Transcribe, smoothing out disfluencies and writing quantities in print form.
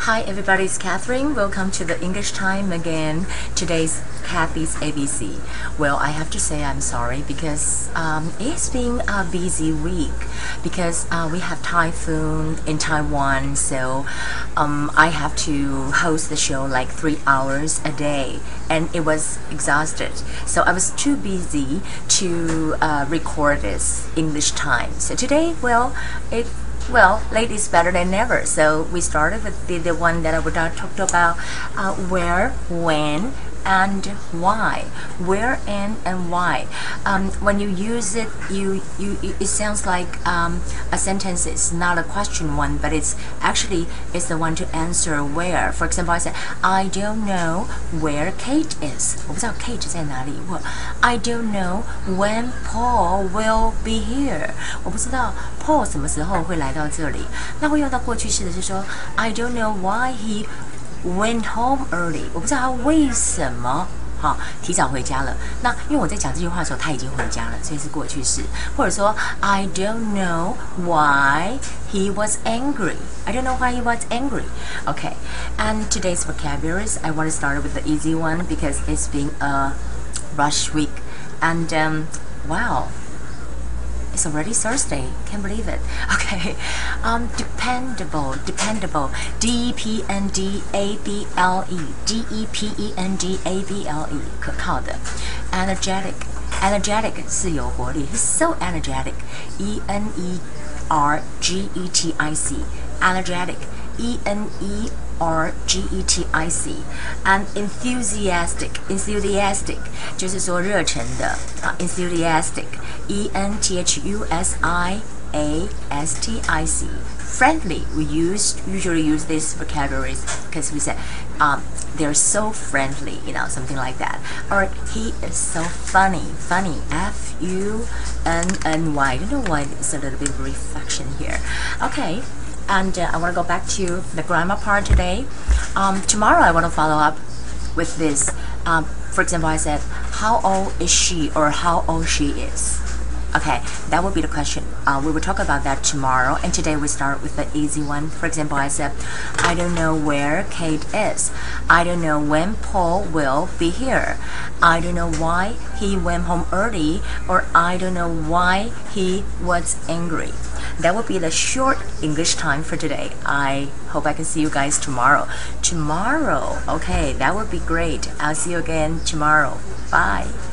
Hi everybody, it's Catherine. Welcome to the English time again. Today's Kathy's ABC. Well, I have to say I'm sorry because it's been a busy week because we have typhoon in Taiwan, so I have to host the show like 3 hours a day and it was exhausted. So I was too busy to record this English time. So today, late is better than never. So we started with the one that I would talk about where, when, and why. Where and why. When you use it, it sounds like a sentence is not a question one, but it's the one to answer where. For example, I said I don't know where Kate is. 我不知道 Kate 在哪里。I don't know when Paul will be here. 我不知道 Paul 什么时候会来到这里。那会用到过去式的是说 I don't know why he went home early. 我不知道他为什么提早回家了。那因为我在讲这句话的时候他已经回家了，所以是过去式。或者说 I don't know why he was angry. I don't know why he was angry. Okay, and today's vocabularies, I want to start with the easy one because it's been a rush week. And wow, it's already Thursday. Can't believe it. Okay. Dependable. D-E-P-N-D-A-B-L-E. D-E-P-E-N-D-A-B-L-E. 可靠的。Energetic 是有活力。He's so energetic. E-N-E-R-G-E-T-I-C. Energetic. E-N-E-R-G-E-T-I-C. And enthusiastic 就是说热忱的enthusiastic. E-N-T-H-U-S-I-A-S-T-I-C. Friendly, we usually use these vocabularies because we say they're so friendly, something like that. Or he is so funny, F-U-N-N-Y. I don't know why it's a little bit of reflection here. Okay, and I want to go back to the grammar part today. Tomorrow I want to follow up with this. For example, I said, how old is she or how old she is? Okay, that will be the question. We will talk about that tomorrow. And today we start with the easy one. For example, I said, I don't know where Kate is. I don't know when Paul will be here. I don't know why he went home early, or I don't know why he was angry. That will be the short English time for today. I hope I can see you guys tomorrow. Okay, that would be great. I'll see you again tomorrow. Bye.